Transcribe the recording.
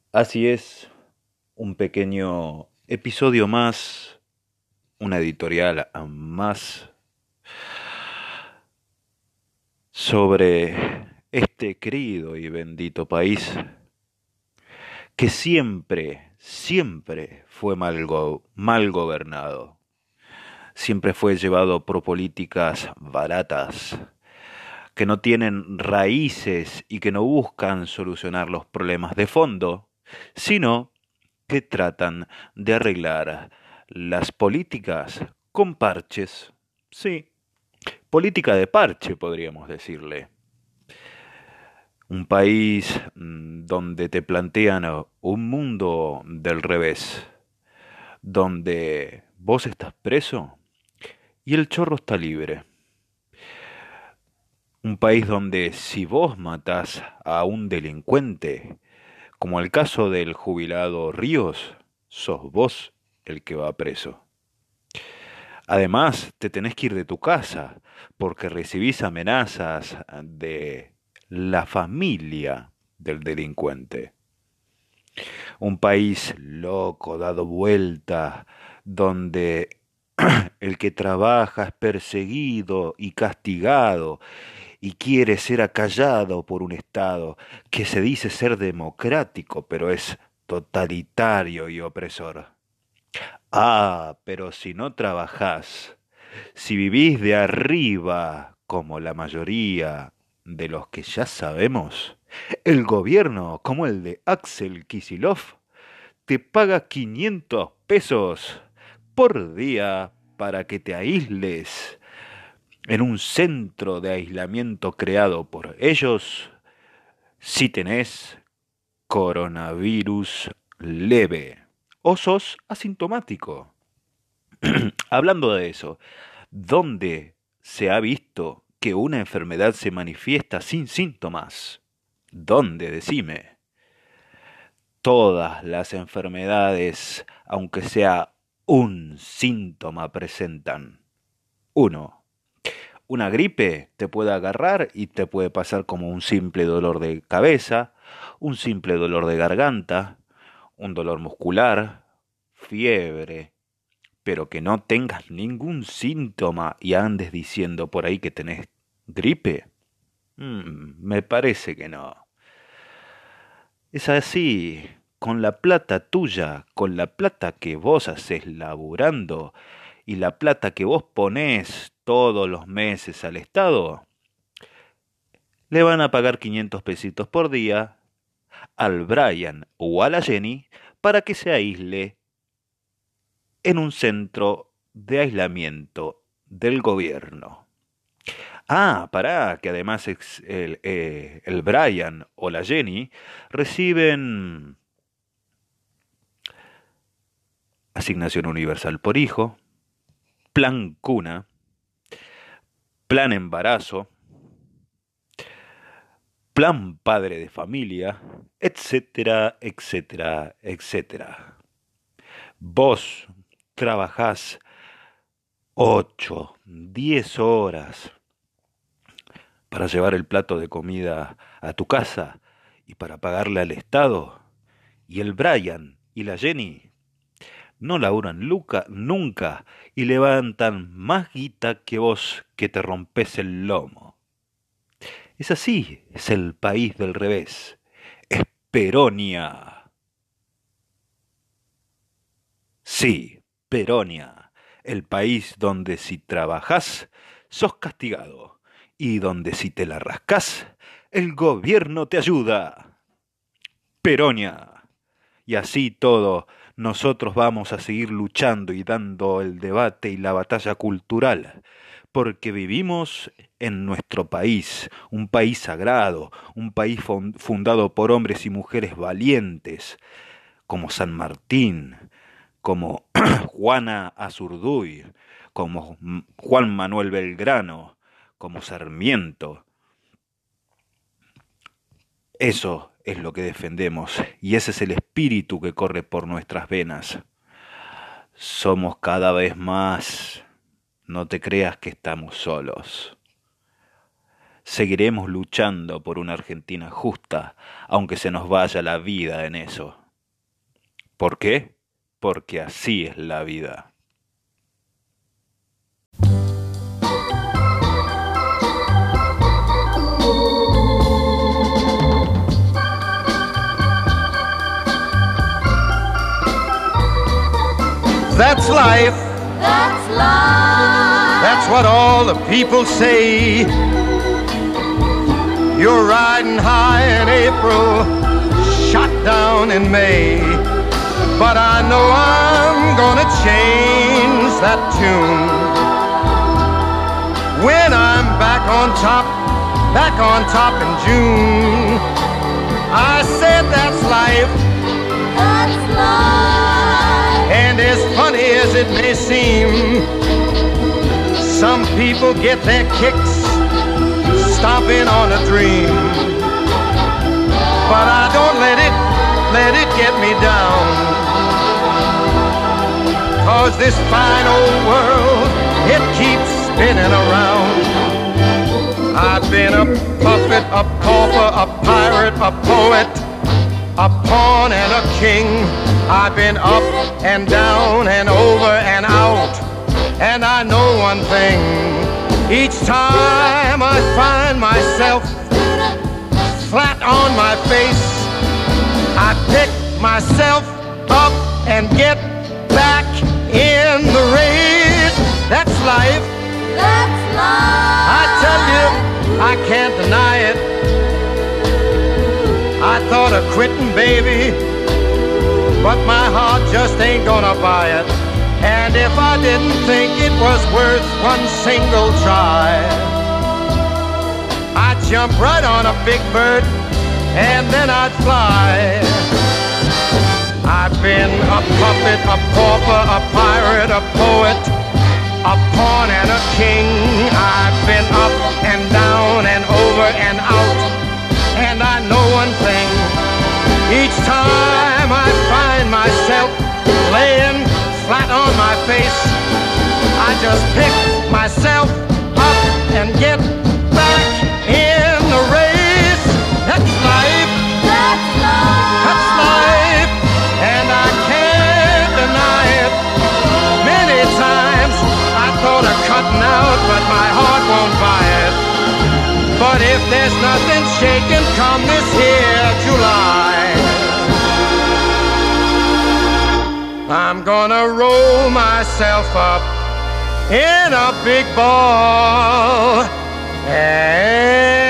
Así es, un pequeño episodio más, una editorial más sobre este querido y bendito país que siempre fue mal gobernado, siempre fue llevado por políticas baratas, que no tienen raíces y que no buscan solucionar los problemas de fondo, sino que tratan de arreglar las políticas con parches. Sí, política de parche, podríamos decirle. Un país donde te plantean un mundo del revés, donde vos estás preso y el chorro está libre. Un país donde si vos matás a un delincuente, como el caso del jubilado Ríos, sos vos el que va preso. Además, te tenés que ir de tu casa porque recibís amenazas de la familia del delincuente. Un país loco, dado vuelta, donde el que trabaja es perseguido y castigado y quiere ser acallado por un Estado que se dice ser democrático, pero es totalitario y opresor. Ah, pero si no trabajás, si vivís de arriba, como la mayoría de los que ya sabemos, el gobierno, como el de Axel Kicillof, te paga 500 pesos por día para que te aísles en un centro de aislamiento creado por ellos si tenés coronavirus leve o sos asintomático. Hablando de eso, ¿dónde se ha visto que una enfermedad se manifiesta sin síntomas? ¿Dónde? Decime. Todas las enfermedades, aunque sea un síntoma, presentan. Uno, una gripe te puede agarrar y te puede pasar como un simple dolor de cabeza, un simple dolor de garganta, un dolor muscular, fiebre, pero que no tengas ningún síntoma y andes diciendo por ahí que tenés gripe. Me parece que no. Es así, con la plata tuya, con la plata que vos haces laburando y la plata que vos ponés todos los meses al Estado, le van a pagar 500 pesitos por día al Brian o a la Jenny para que se aísle en un centro de aislamiento del gobierno. Ah, pará, que además el Brian o la Jenny reciben asignación universal por hijo, plan cuna, plan embarazo, plan padre de familia, etcétera, etcétera, etcétera. Vos trabajás 8, 10 horas para llevar el plato de comida a tu casa y para pagarle al Estado. Y el Brian y la Jenny no laburan nunca y levantan más guita que vos que te rompes el lomo. Es así, es el país del revés. Es Peronia. Sí, Peronia, el país donde si trabajás, sos castigado, y donde si te la rascás, el gobierno te ayuda. Peronia. Y así todo, nosotros vamos a seguir luchando y dando el debate y la batalla cultural, porque vivimos en nuestro país, un país sagrado, un país fundado por hombres y mujeres valientes, como San Martín, como Juana Azurduy, como Juan Manuel Belgrano, como Sarmiento. Eso es lo que defendemos y ese es el espíritu que corre por nuestras venas. Somos cada vez más. No te creas que estamos solos. Seguiremos luchando por una Argentina justa, aunque se nos vaya la vida en eso. ¿Por qué? Porque así es la vida. That's life. That's life. That's what all the people say. You're riding high in April, shot down in May. But I know I'm gonna change that tune when I'm back on top in June. I said that's life. That's life. And as funny as it may seem, some people get their kicks stomping on a dream. But I don't let it get me down. 'Cause this fine old world, it keeps spinning around. I've been a puppet, a pauper, a pirate, a poet, a pawn and a king. I've been up and down and over and out. And I know one thing, each time I find myself flat on my face, I pick myself up and get back in the race. That's life. That's life. I tell you, I can't deny it. I thought of quitting, baby, but my heart just ain't gonna buy it. And if I didn't think it was worth one single try, I'd jump right on a big bird and then I'd fly. I've been a puppet, a pauper, a pirate, a poet, a pawn and a king. I've been up and down and over and out. And I know one thing, each time I find myself laying flat on my face, I just pick myself up and get back in the race. That's life. That's life. That's life. And I can't deny it. Many times I thought of cutting out, but my heart won't buy it. But if there's nothing shaking come this here July, I'm gonna roll myself up in a big ball and